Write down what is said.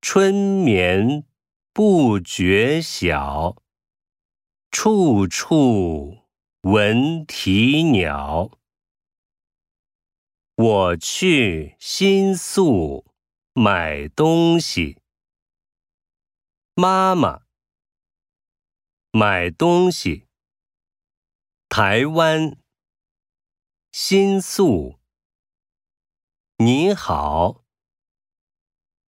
春眠不觉晓，处处闻啼鸟。我去新宿买东西。妈妈，买东西。台湾，新宿。你好。